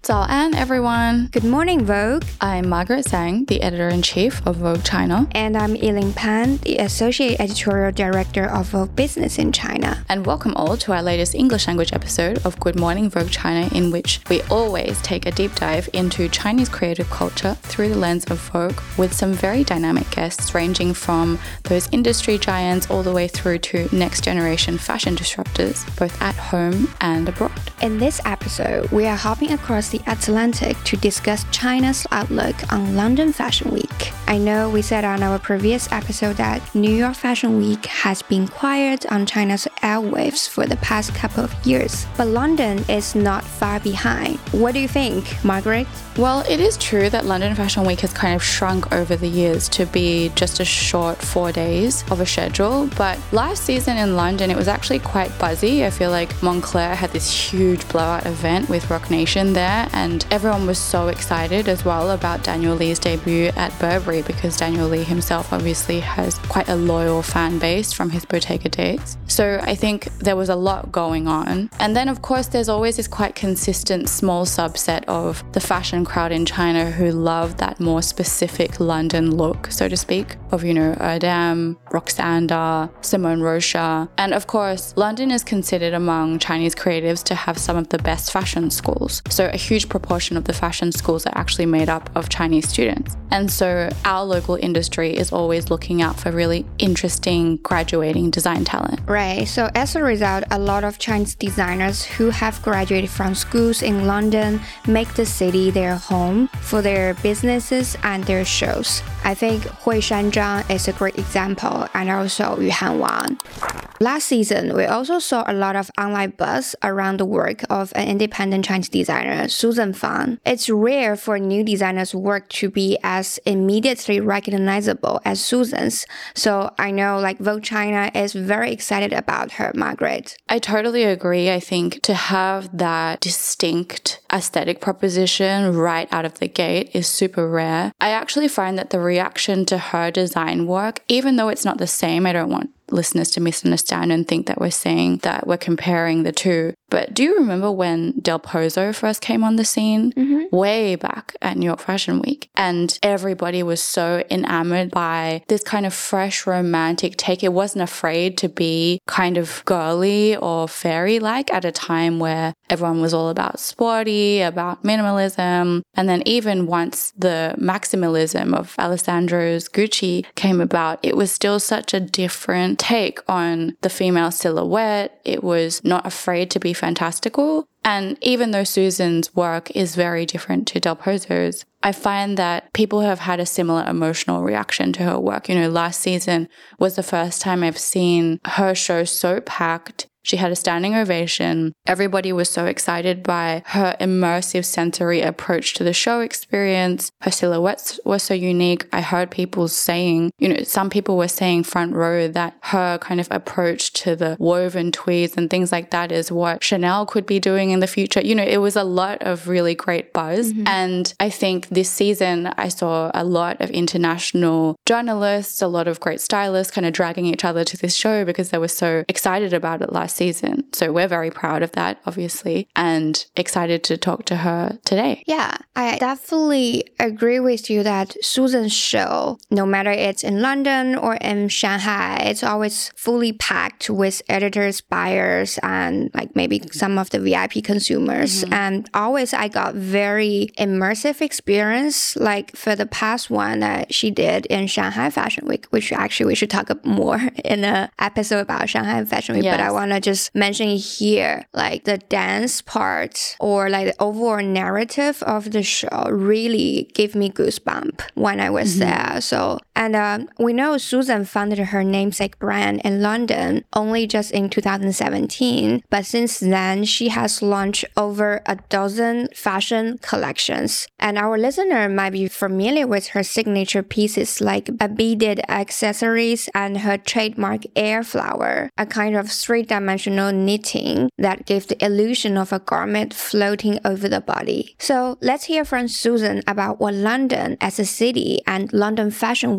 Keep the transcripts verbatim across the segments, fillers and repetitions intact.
早安, everyone. Good morning, Vogue. I'm Margaret Zhang, the editor-in-chief of Vogue China. And I'm Yiling Pan, the associate editorial director of Vogue Business in China. And welcome all to our latest English language episode of Good Morning Vogue China, in which we always take a deep dive into Chinese creative culture through the lens of Vogue, with some very dynamic guests ranging from those industry giants all the way through to next-generation fashion disruptors, both at home and abroad. In this episode, we are hopping across the Atlantic to discuss China's outlook on London Fashion Week. I know we said on our previous episode that New York Fashion Week has been quiet on China's airwaves for the past couple of years, but London is not far behind. What do you think, Margaret? Well, it is true that London Fashion Week has kind of shrunk over the years to be just a short four days of a schedule, but last season in London it was actually quite buzzy. I feel like Moncler had this huge blowout event with Roc Nation there, and everyone was so excited as well about Daniel Lee's debut at Burberry, because Daniel Lee himself obviously has quite a loyal fan base from his Bottega days. So I think there was a lot going on. And then of course there's always this quite consistent small subset of the fashion crowd in China who love that more specific London look, so to speak, of, you know, Erdem, Roksanda, Simone Rocha. And of course, London is considered among Chinese creatives to have some of the best fashion schools. So a huge proportion of the fashion schools are actually made up of Chinese students. And so our local industry is always looking out for really interesting graduating design talent. Right. So as a result, a lot of Chinese designers who have graduated from schools in London make the city their home for their businesses and their shows. I think Hui Shanzhang is a great example, and also Yuhan Wang. Last season, we also saw a lot of online buzz around the work of an independent Chinese designer, Susan Fan. It's rare for new designers' work to be as immediately recognizable as Susan's. So I know like Vogue China is very excited about her, Margaret. I totally agree. I think to have that distinct aesthetic proposition right out of the gate is super rare. I actually find that the reaction to her design work, even though it's not the same, I don't want listeners to misunderstand and think that we're saying that we're comparing the two. But do you remember when Del Pozo first came on the scene? Mm-hmm. Way back at New York Fashion Week. And everybody was so enamored by this kind of fresh, romantic take. It wasn't afraid to be kind of girly or fairy-like at a time where everyone was all about sporty, about minimalism. And then even once the maximalism of Alessandro's Gucci came about, it was still such a different take on the female silhouette. It was not afraid to be fantastical. And even though Susan's work is very different to Del Pozo's, I find that people have had a similar emotional reaction to her work. You know, last season was the first time I've seen her show so packed. She had a standing ovation. Everybody was so excited by her immersive sensory approach to the show experience. Her silhouettes were so unique. I heard people saying, you know, some people were saying front row that her kind of approach to the woven tweeds and things like that is what Chanel could be doing in the future. You know, it was a lot of really great buzz. Mm-hmm. And I think this season I saw a lot of international journalists, a lot of great stylists kind of dragging each other to this show because they were so excited about it last season. So we're very proud of that, obviously, and excited to talk to her today. Yeah, I definitely agree with you that Susan's show, no matter it's in London or in Shanghai, it's always fully packed with editors, buyers, and like maybe some of the V I P consumers. Mm-hmm. And always I got very immersive experience, like for the past one that she did in Shanghai Fashion Week, which actually we should talk more in an episode about Shanghai Fashion Week, yes. But I want to just mention here, like the dance part or like the overall narrative of the show really gave me goosebumps when I was mm-hmm. there. So, and um, we know Susan founded her namesake brand in London only just in two thousand seventeen, but since then she has launched over a dozen fashion collections. And our listener might be familiar with her signature pieces like a beaded accessories and her trademark air flower, a kind of three-dimensional knitting that gave the illusion of a garment floating over the body. So let's hear from Susan about what London as a city and London Fashion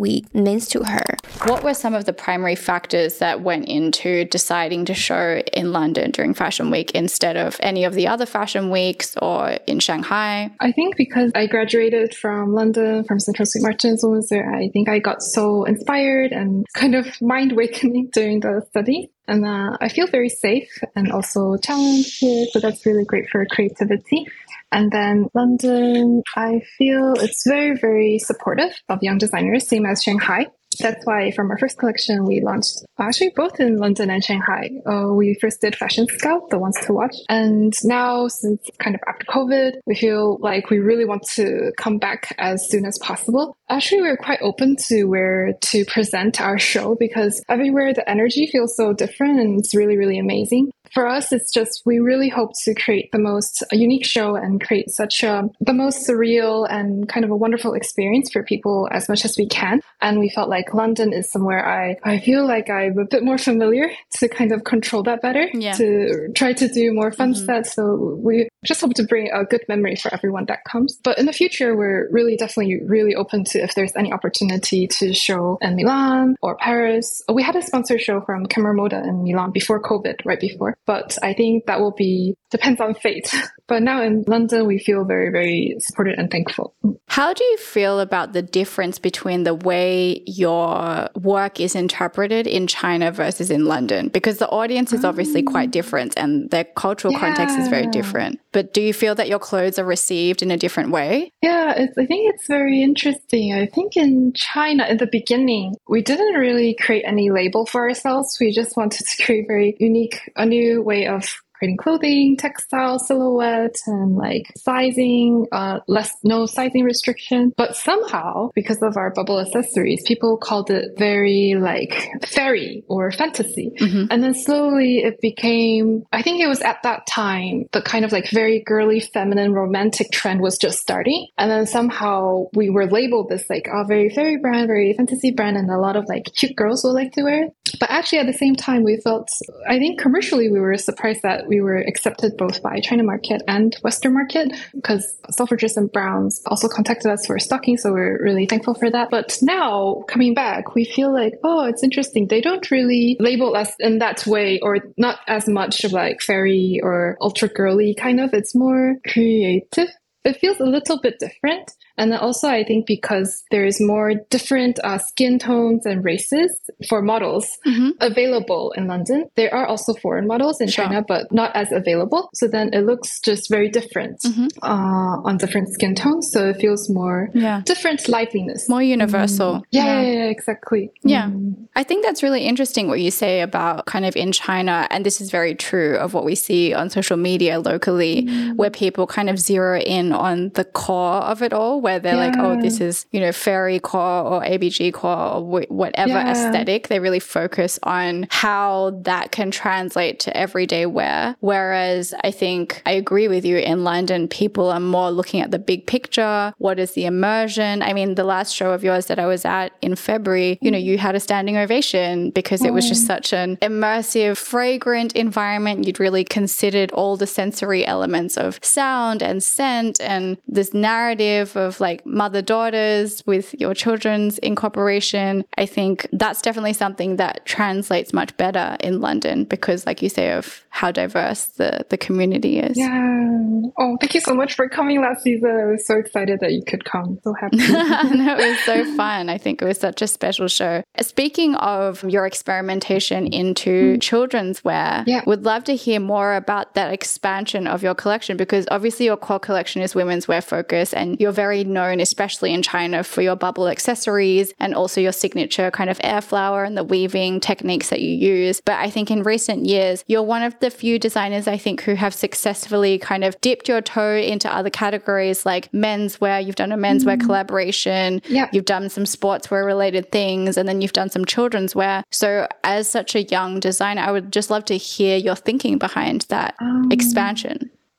Week means to her. What were some of the primary factors that went into deciding to show in London during Fashion Week instead of any of the other fashion weeks or in Shanghai? I think because I graduated from London, from Central Saint Martin's Women's Wear, I think I got so inspired and kind of mind awakening during the study. And uh, I feel very safe and also challenged here. So that's really great for creativity. And then London, I feel it's very, very supportive of young designers, same as Shanghai. That's why from our first collection, we launched actually both in London and Shanghai. Uh, we first did Fashion Scout, the ones to watch. And now, since kind of after COVID, we feel like we really want to come back as soon as possible. Actually, we're quite open to where to present our show because everywhere the energy feels so different and it's really, really amazing. For us, it's just we really hope to create the most unique show and create such a the most surreal and kind of a wonderful experience for people as much as we can. And we felt like London is somewhere I, I feel like I'm a bit more familiar to kind of control that better, yeah. to try to do more fun mm-hmm. stuff. So we just hope to bring a good memory for everyone that comes. But in the future, we're really definitely really open to if there's any opportunity to show in Milan or Paris. We had a sponsor show from Camera Moda in Milan before COVID, right before. But I think that will be, depends on fate. But now in London, we feel very, very supported and thankful. How do you feel about the difference between the way your work is interpreted in China versus in London? Because the audience is obviously quite different and their cultural yeah. context is very different. But do you feel that your clothes are received in a different way? Yeah, it's, I think it's very interesting. I think in China, in the beginning, we didn't really create any label for ourselves. We just wanted to create very unique, a new way of creating clothing, textile, silhouette, and like sizing, uh, less, no sizing restriction. But somehow, because of our bubble accessories, people called it very like fairy or fantasy. Mm-hmm. And then slowly it became, I think it was at that time, the kind of like very girly, feminine, romantic trend was just starting. And then somehow we were labeled this like a very fairy brand, very fantasy brand, and a lot of like cute girls will like to wear it. But actually at the same time, we felt, I think commercially we were surprised that we were accepted both by China market and Western market because Selfridges and Browns also contacted us for stocking. So we're really thankful for that. But now coming back, we feel like, oh, it's interesting. They don't really label us in that way or not as much of like fairy or ultra girly kind of. It's more creative. It feels a little bit different. And then also, I think because there is more different uh, skin tones and races for models mm-hmm. available in London. There are also foreign models in sure. China, but not as available. So then it looks just very different mm-hmm. uh, on different skin tones. So it feels more yeah. different liveliness. More universal. Mm. Yeah, yeah. Yeah, yeah, exactly. Yeah. Mm. I think that's really interesting what you say about kind of in China. And this is very true of what we see on social media locally, mm. where people kind of zero in on the core of it all, where they're yeah. like, oh, this is, you know, fairy core or A B G core or w- whatever yeah. aesthetic. They really focus on how that can translate to everyday wear. Whereas I think I agree with you, in London, people are more looking at the big picture. What is the immersion? I mean, the last show of yours that I was at in February, you know, you had a standing ovation because it was just such an immersive, fragrant environment. You'd really considered all the sensory elements of sound and scent and this narrative of like mother-daughters with your children's incorporation. I think that's definitely something that translates much better in London because, like you say, of how diverse the, the community is. Yeah. Oh, thank you so much for coming last season. I was so excited that you could come. So happy. No, it was so fun. I think it was such a special show. Speaking of your experimentation into mm. children's wear, yeah. would love to hear more about that expansion of your collection because obviously your core collection is women's wear focus and you're very known, especially in China, for your bubble accessories and also your signature kind of air flower and the weaving techniques that you use. But I think in recent years, you're one of the few designers, I think, who have successfully kind of dipped your toe into other categories like menswear. You've done a menswear mm. collaboration. Yeah. You've done some sportswear related things, and then you've done some children's wear. So as such a young designer, I would just love to hear your thinking behind that um. expansion.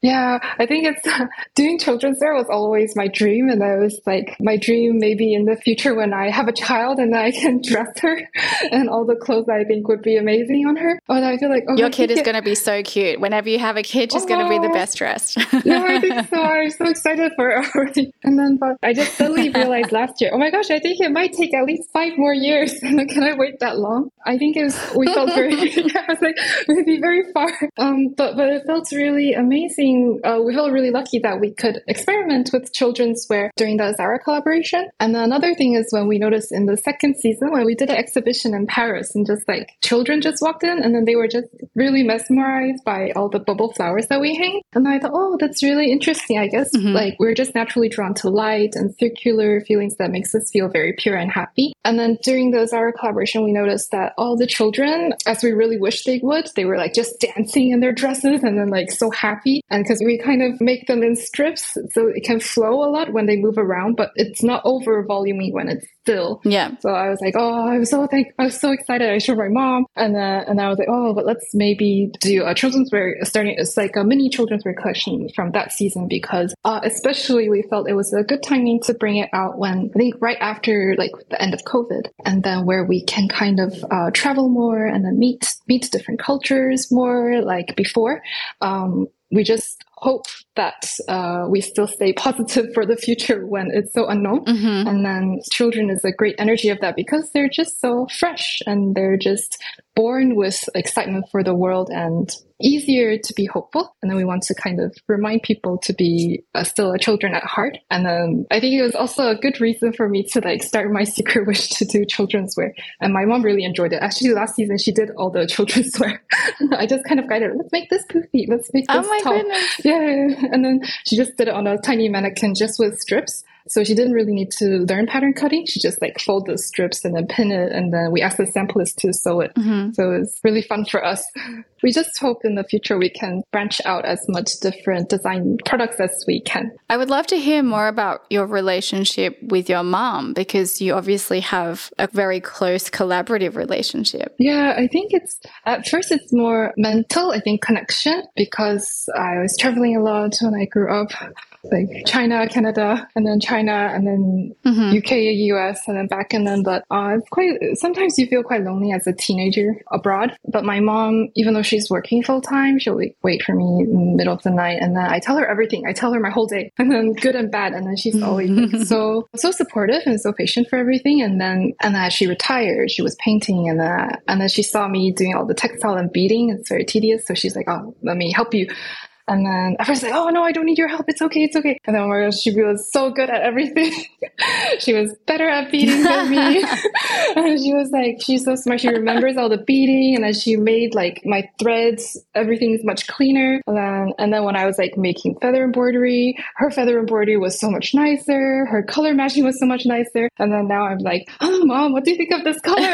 Yeah, I think it's uh, doing children's wear was always my dream. And I was like, my dream maybe in the future when I have a child and I can dress her and all the clothes I think would be amazing on her. But I feel like, oh, your I kid is it... going to be so cute. Whenever you have a kid, she's oh, going to be the best dressed. Yeah, I think so. I'm so excited for it already. And then but I just suddenly realized last year, oh my gosh, I think it might take at least five more years. Can I wait that long? I think it was, we felt very, yeah, I was like, maybe very far. Um, but, but it felt really amazing. Uh, we felt really lucky that we could experiment with children's wear during the Zara collaboration. And another thing is when we noticed in the second season, when we did an exhibition in Paris and just like children just walked in and then they were just really mesmerized by all the bubble flowers that we hang. And I thought, oh, that's really interesting. I guess mm-hmm. like we're just naturally drawn to light and circular feelings that makes us feel very pure and happy. And then during the Zara collaboration, we noticed that all the children, as we really wish they would, they were like just dancing in their dresses and then like so happy. And because we kind of make them in strips so it can flow a lot when they move around, but it's not over volumey when it's still. Yeah. So I was like, oh, I was so thank- I was so excited. I showed my mom, and uh, and I was like, oh, but let's maybe do a children's wear starting. It's like a mini children's wear collection from that season because uh, especially we felt it was a good timing to bring it out when I think right after like the end of COVID, and then where we can kind of uh, travel more and then meet meet different cultures more like before. Um, we just hope that uh, we still stay positive for the future when it's so unknown. Mm-hmm. And then children is a great energy of that because they're just so fresh and they're just born with excitement for the world and easier to be hopeful. And then we want to kind of remind people to be uh, still a children at heart. And then I think it was also a good reason for me to like start my secret wish to do children's wear. And my mom really enjoyed it. Actually, last season, she did all the children's wear. I just kind of guided her, let's make this poofy. Let's make this oh my tall. Goodness. Yeah. And then she just did it on a tiny mannequin just with strips. So she didn't really need to learn pattern cutting. She just like fold the strips and then pin it. And then we asked the samplist to sew it. Mm-hmm. So it's really fun for us. We just hope in the future we can branch out as much different design products as we can. I would love to hear more about your relationship with your mom because you obviously have a very close collaborative relationship. Yeah, I think it's, at first it's more mental, I think connection, because I was traveling a lot when I grew up. Like China, Canada, and then China, and then mm-hmm. U K, U S, and then back. And then, but uh, it's quite, sometimes you feel quite lonely as a teenager abroad. But my mom, even though she's working full time, she'll like, wait for me in the middle of the night. And then I tell her everything. I tell her my whole day, and then good and bad. And then she's always like, so, so supportive and so patient for everything. And then, and then as she retired, she was painting, and then, and then she saw me doing all the textile and beading. It's very tedious. So she's like, oh, let me help you. And then at first, like, oh no, I don't need your help. It's okay, it's okay. And then oh my gosh, she was so good at everything. She was better at beading than me. And she was like, she's so smart. She remembers all the beading, and then she made like my threads. Everything's much cleaner. And then, and then when I was like making feather embroidery, her feather embroidery was so much nicer. Her color matching was so much nicer. And then now I'm like, oh mom, what do you think of this color?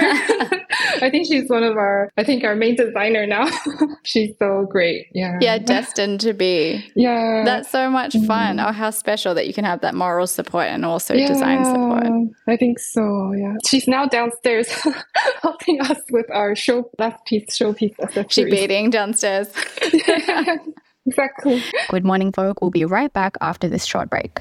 I think she's one of our, I think our main designer now. She's so great. Yeah. Yeah, destined to be. Yeah. That's so much fun. Mm. Oh, how special that you can have that moral support and also yeah, design support. I think so, yeah. She's now downstairs helping us with our show last piece, showpiece accessories. She beading downstairs. Yeah, exactly. Good morning, folk. We'll be right back after this short break.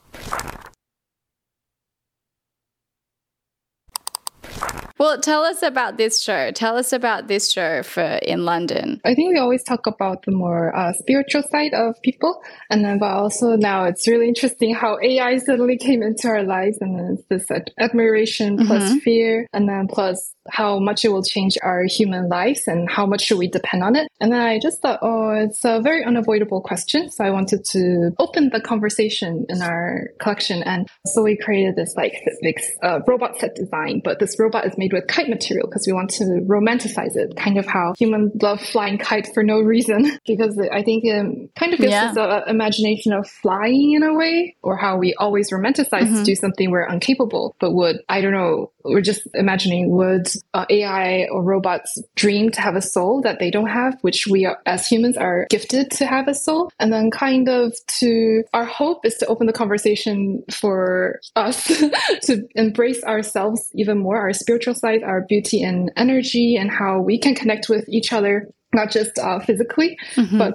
Well, tell us about this show. Tell us about this show for in London. I think we always talk about the more uh, spiritual side of people. And then, but also now it's really interesting how A I suddenly came into our lives. And then it's this ad- admiration plus mm-hmm. fear. And then plus how much it will change our human lives and how much should we depend on it. And then I just thought, oh, it's a very unavoidable question. So I wanted to open the conversation in our collection. And so we created this like this uh, robot set design, but this robot is made with kite material because we want to romanticize it, kind of how humans love flying kites for no reason, because I think it um, kind of gives yeah. us an imagination of flying in a way, or how we always romanticize mm-hmm. to do something we're incapable, but would, I don't know, we're just imagining would uh, A I or robots dream to have a soul that they don't have, which we are, as humans are gifted to have a soul. And then kind of to, our hope is to open the conversation for us to embrace ourselves even more, our spiritual side, our beauty and energy, and how we can connect with each other, not just uh, physically, mm-hmm. but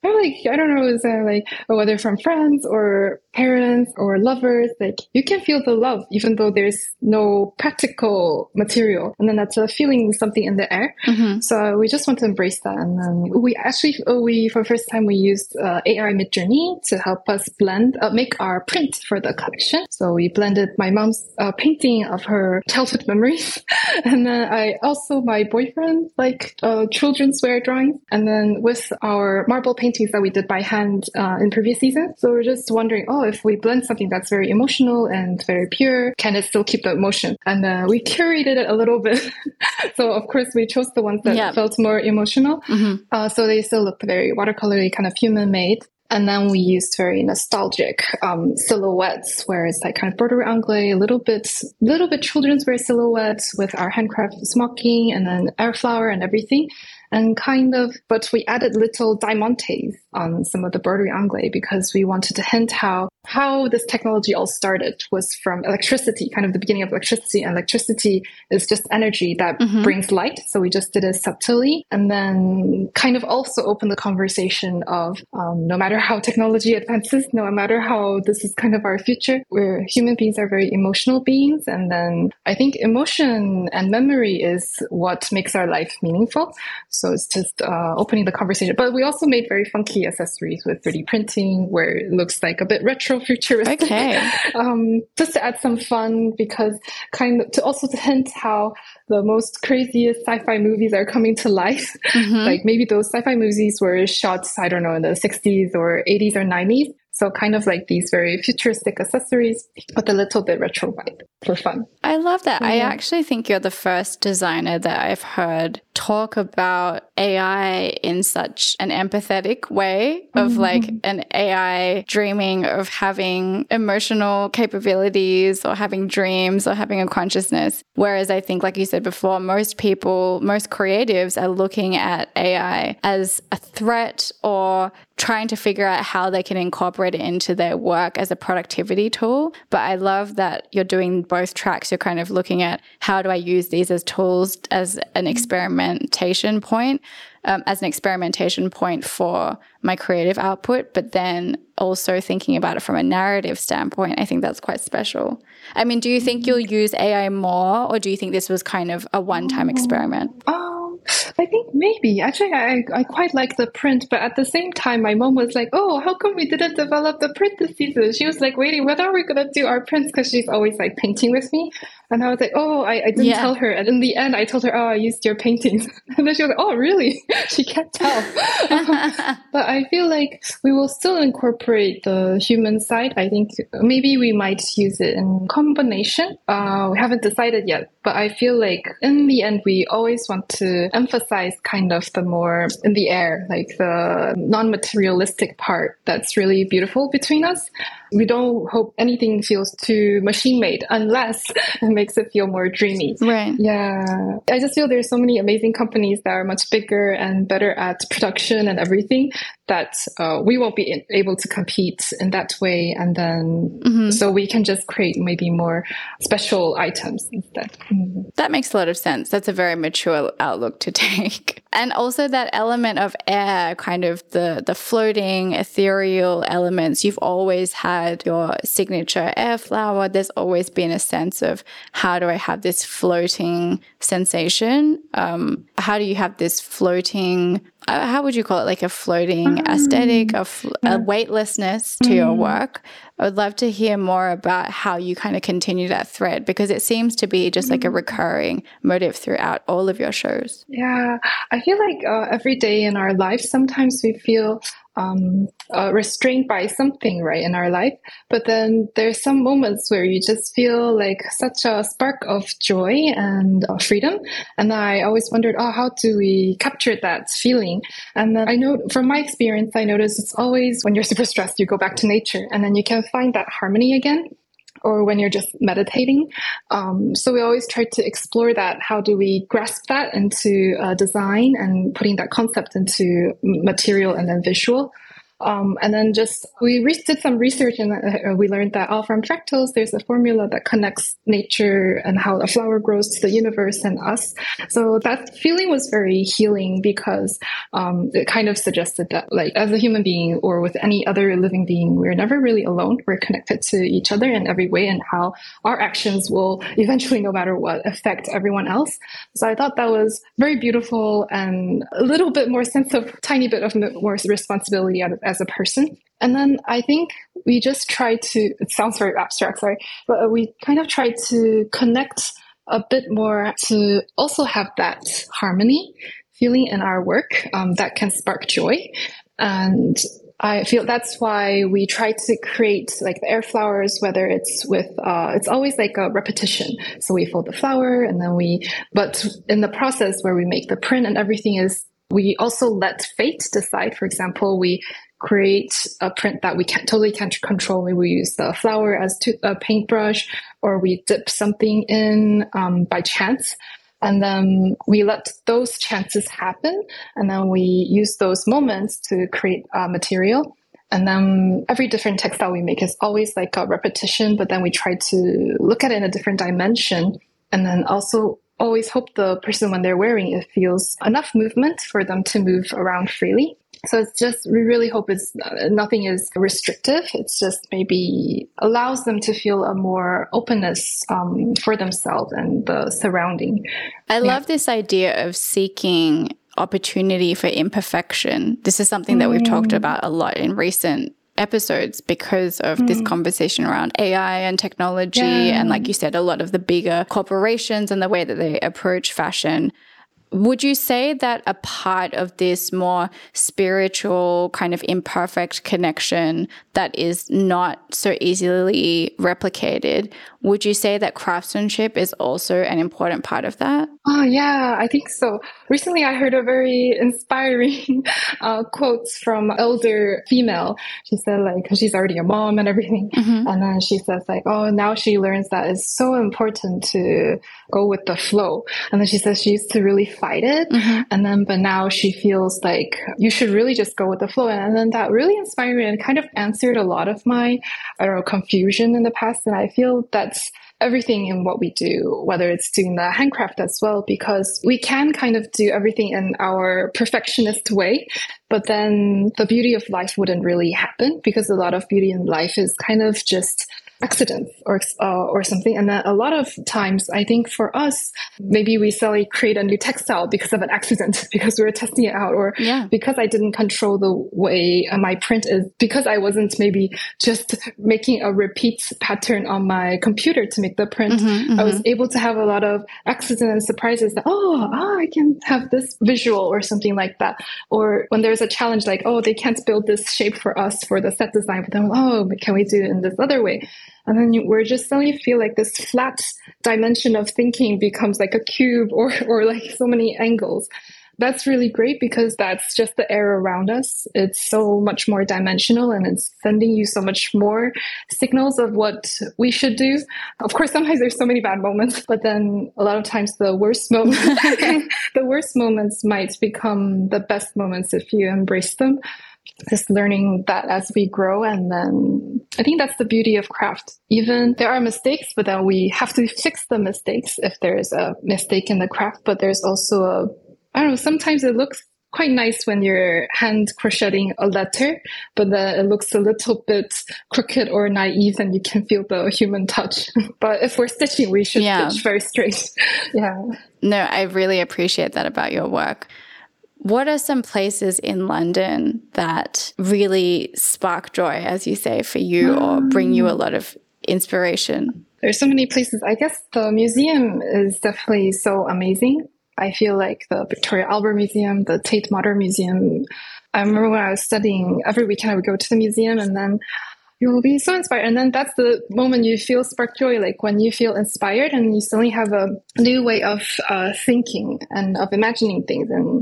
Or like, I don't know, is there like, whether from friends or parents or lovers, like you can feel the love even though there's no practical material. And then that's a feeling, something in the air. Mm-hmm. So we just want to embrace that. And then we actually, we, for the first time, we used uh, A I Midjourney to help us blend, uh, make our print for the collection. So we blended my mom's uh, painting of her childhood memories. And then I also, my boyfriend, like uh, children's wear drawings. And then with our marble paintings that we did by hand uh, in previous seasons. So we're just wondering, oh, if we blend something that's very emotional and very pure, can it still keep the emotion? And uh, we curated it a little bit. So of course we chose the ones that yeah. felt more emotional. Mm-hmm. Uh, so they still looked very watercolory, kind of human made. And then we used very nostalgic um, silhouettes, where it's like kind of broderie anglais, a little bit, little bit children's wear silhouettes with our handcrafted smocking and then air flower and everything. And kind of, but we added little diamantes on some of the broderie anglais because we wanted to hint how how this technology all started was from electricity, kind of the beginning of electricity. And electricity is just energy that mm-hmm. brings light. So we just did it subtly and then kind of also opened the conversation of um, no matter how technology advances, no matter how this is kind of our future, where human beings are very emotional beings. And then I think emotion and memory is what makes our life meaningful. So it's just uh, opening the conversation. But we also made very funky accessories with three D printing where it looks like a bit retro futuristic. Okay. um, just to add some fun because kind of to also to hint how the most craziest sci-fi movies are coming to life. Mm-hmm. Like maybe those sci-fi movies were shot, I don't know, in the sixties or eighties or nineties. So kind of like these very futuristic accessories, but a little bit retro vibe for fun. I love that. Yeah. I actually think you're the first designer that I've heard talk about A I in such an empathetic way of mm-hmm. like an A I dreaming of having emotional capabilities or having dreams or having a consciousness. Whereas I think, like you said before, most people, most creatives are looking at A I as a threat or trying to figure out how they can incorporate it into their work as a productivity tool. But I love that you're doing both tracks. You're kind of looking at how do I use these as tools as an experimentation point, um, as an experimentation point for my creative output, but then also thinking about it from a narrative standpoint. I think that's quite special. I mean, do you think you'll use A I more, or do you think this was kind of a one-time experiment? Um, I think maybe. Actually, I, I quite like the print, but at the same time, my mom was like, oh, how come we didn't develop the print this season? She was like waiting, when are we going to do our prints? Because she's always like painting with me. And I was like, oh, I, I didn't yeah. tell her. And in the end, I told her, oh, I used your paintings. And then she was like, oh, really? She can't tell. um, but I feel like we will still incorporate the human side. I think maybe we might use it in combination. Uh, we haven't decided yet. But I feel like in the end, we always want to emphasize kind of the more in the air, like the non-materialistic part that's really beautiful between us. We don't hope anything feels too machine-made unless it makes it feel more dreamy. Right. Yeah. I just feel there's so many amazing companies that are much bigger and better at production and everything that uh, we won't be able to compete in that way. And then mm-hmm. so we can just create maybe more special items instead. Mm-hmm. That makes a lot of sense. That's a very mature outlook to take. And also that element of air, kind of the, the floating, ethereal elements. You've always had your signature air flower. There's always been a sense of how do I have this floating sensation? Um, how do you have this floating, uh, how would you call it? Like a floating um, aesthetic, a, fl- yeah. a weightlessness to mm. your work. I would love to hear more about how you kind of continue that thread, because it seems to be just like a recurring motive throughout all of your shows. Yeah, I feel like uh, every day in our life, sometimes we feel um, uh, restrained by something, right, in our life. But then there's some moments where you just feel like such a spark of joy and uh, freedom. And I always wondered, oh, how do we capture that feeling? And then I know from my experience, I noticed it's always when you're super stressed, you go back to nature and then you can find that harmony again. Or when you're just meditating. Um, so we always try to explore that. How do we grasp that into uh, design and putting that concept into material and then visual? Um, and then just we re- did some research and uh, we learned that oh, from fractals, there's a formula that connects nature and how a flower grows to the universe and us. So that feeling was very healing because um, it kind of suggested that like as a human being or with any other living being, we're never really alone. We're connected to each other in every way and how our actions will eventually, no matter what, affect everyone else. So I thought that was very beautiful and a little bit more sense of tiny bit of more responsibility as a person. And then I think we just try to, it sounds very abstract, sorry, but we kind of try to connect a bit more to also have that harmony feeling in our work um, that can spark joy. And I feel that's why we try to create like the air flowers, whether it's with, uh, it's always like a repetition. So we fold the flower and then we, but in the process where we make the print and everything is, we also let fate decide. For example, we create a print that we can't totally can't control. Maybe we use the flower as to, a paintbrush, or we dip something in um, by chance. And then we let those chances happen. And then we use those moments to create uh, material. And then every different textile we make is always like a repetition, but then we try to look at it in a different dimension. And then also always hope the person, when they're wearing it, feels enough movement for them to move around freely. So it's just, we really hope it's uh, nothing is restrictive. It's just maybe allows them to feel a more openness um, for themselves and the surrounding. I yeah. love this idea of seeking opportunity for imperfection. This is something that we've mm. talked about a lot in recent episodes because of mm. this conversation around A I and technology. Yeah. And like you said, a lot of the bigger corporations and the way that they approach fashion. Would you say that a part of this more spiritual kind of imperfect connection that is not so easily replicated, would you say that craftsmanship is also an important part of that? Oh, yeah, I think so. Recently, I heard a very inspiring uh, quote from an elder female. She said, like, because she's already a mom and everything. Mm-hmm. And then she says, like, oh, now she learns that it's so important to go with the flow. And then she says she used to really fight it. Mm-hmm. And then, but now she feels like you should really just go with the flow. And then that really inspired me and kind of answered a lot of my, I don't know, confusion in the past. And I feel that's everything in what we do, whether it's doing the handcraft as well, because we can kind of do everything in our perfectionist way, but then the beauty of life wouldn't really happen because a lot of beauty in life is kind of just accidents or uh, or something. And then a lot of times, I think for us, maybe we suddenly create a new textile because of an accident, because we were testing it out, or yeah. because I didn't control the way my print is, because I wasn't maybe just making a repeat pattern on my computer to make the print. Mm-hmm, mm-hmm. I was able to have a lot of accidents and surprises that, oh, oh, I can have this visual or something like that. Or when there's a challenge like, oh, they can't build this shape for us for the set design, but then, oh, can we do it in this other way? And then you, we're just suddenly feel like this flat dimension of thinking becomes like a cube or, or like so many angles. That's really great because that's just the air around us. It's so much more dimensional and it's sending you so much more signals of what we should do. Of course, sometimes there's so many bad moments, but then a lot of times the worst moments, the worst moments might become the best moments if you embrace them. Just learning that as we grow. And then I think that's the beauty of craft. Even there are mistakes, but then we have to fix the mistakes if there's a mistake in the craft. But there's also a, I don't know, sometimes it looks quite nice when you're hand crocheting a letter, but then it looks a little bit crooked or naive and you can feel the human touch. But if we're stitching, we should yeah. stitch very straight. yeah. No, I really appreciate that about your work. What are some places in London that really spark joy, as you say, for you or bring you a lot of inspiration? There's so many places. I guess the museum is definitely so amazing. I feel like the Victoria Albert Museum, the Tate Modern Museum. I remember when I was studying, every weekend I would go to the museum and then you will be so inspired. And then that's the moment you feel spark joy, like when you feel inspired and you suddenly have a new way of uh, thinking and of imagining things. And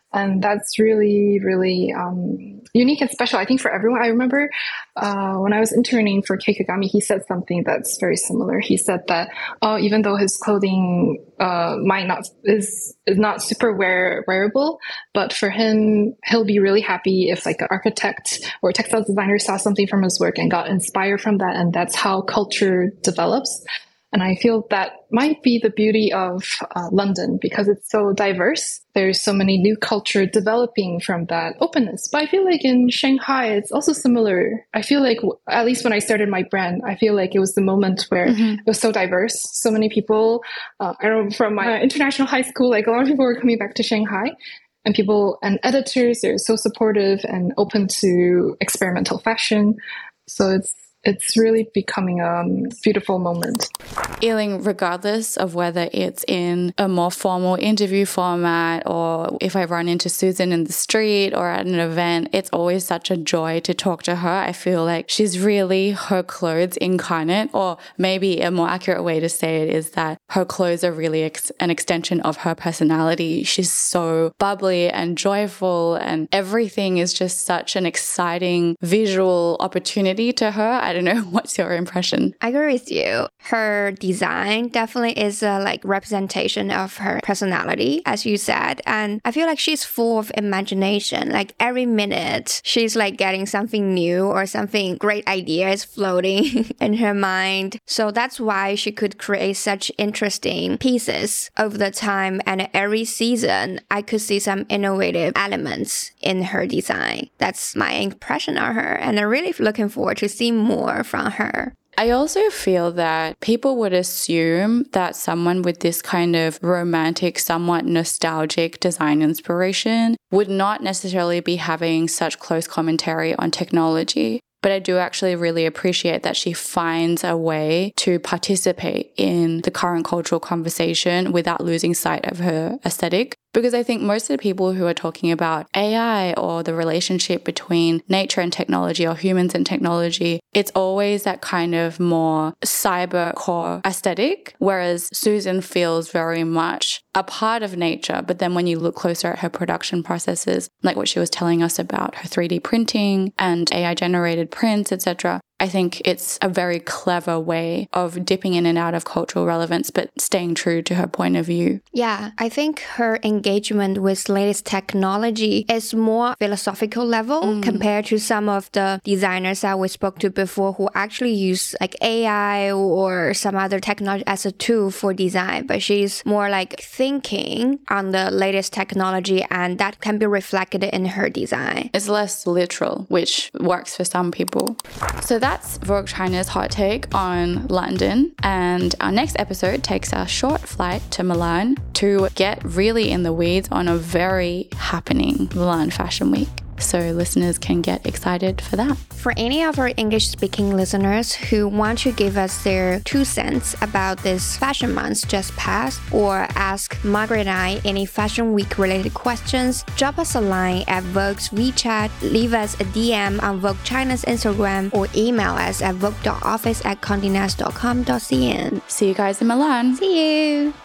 And that's really, really um, unique and special, I think, for everyone. I remember uh, when I was interning for Kei Kagami, he said something that's very similar. He said that, oh, even though his clothing uh, might not is is not super wear, wearable, but for him, he'll be really happy if like an architect or a textile designer saw something from his work and got inspired from that. And that's how culture develops. And I feel that might be the beauty of uh, London, because it's so diverse. There's so many new culture developing from that openness. But I feel like in Shanghai, it's also similar. I feel like, at least when I started my brand, I feel like it was the moment where mm-hmm. it was so diverse. So many people, uh, I don't know, from my international high school, like a lot of people were coming back to Shanghai. And people and editors, they're so supportive and open to experimental fashion. So it's It's really becoming a beautiful moment. Yiling, regardless of whether it's in a more formal interview format or if I run into Susan in the street or at an event, it's always such a joy to talk to her. I feel like she's really her clothes incarnate, or maybe a more accurate way to say it is that her clothes are really ex- an extension of her personality. She's so bubbly and joyful, and everything is just such an exciting visual opportunity to her. I don't know. What's your impression? I agree with you. Her design definitely is a like representation of her personality, as you said. And I feel like she's full of imagination. Like every minute, she's like getting something new or something great ideas floating in her mind. So that's why she could create such interesting pieces over the time. And every season, I could see some innovative elements in her design. That's my impression of her. And I'm really looking forward to see more from her. I also feel that people would assume that someone with this kind of romantic, somewhat nostalgic design inspiration would not necessarily be having such close commentary on technology. But I do actually really appreciate that she finds a way to participate in the current cultural conversation without losing sight of her aesthetic. Because I think most of the people who are talking about A I or the relationship between nature and technology or humans and technology, it's always that kind of more cybercore aesthetic, whereas Susan feels very much a part of nature. But then when you look closer at her production processes, like what she was telling us about her three D printing and A I-generated prints, et cetera, I think it's a very clever way of dipping in and out of cultural relevance, but staying true to her point of view. Yeah, I think her engagement with latest technology is more philosophical level mm. compared to some of the designers that we spoke to before who actually use like A I or some other technology as a tool for design. But she's more like thinking on the latest technology, and that can be reflected in her design. It's less literal, which works for some people. So that's Vogue China's hot take on London, and our next episode takes our short flight to Milan to get really in the weeds on a very happening Milan Fashion Week. So listeners can get excited for that. For any of our English-speaking listeners who want to give us their two cents about this fashion month just passed, or ask Margaret and I any Fashion Week-related questions, drop us a line at Vogue's WeChat, leave us a D M on Vogue China's Instagram, or email us at vogue dot office at condé nast dot com dot c n. See you guys in Milan. See you!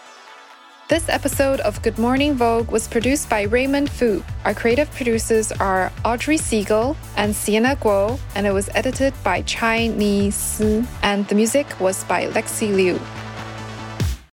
This episode of Good Morning Vogue was produced by Raymond Fu. Our creative producers are Audrey Siegel and Sienna Guo, and it was edited by Chai Ni Si, and the music was by Lexi Liu.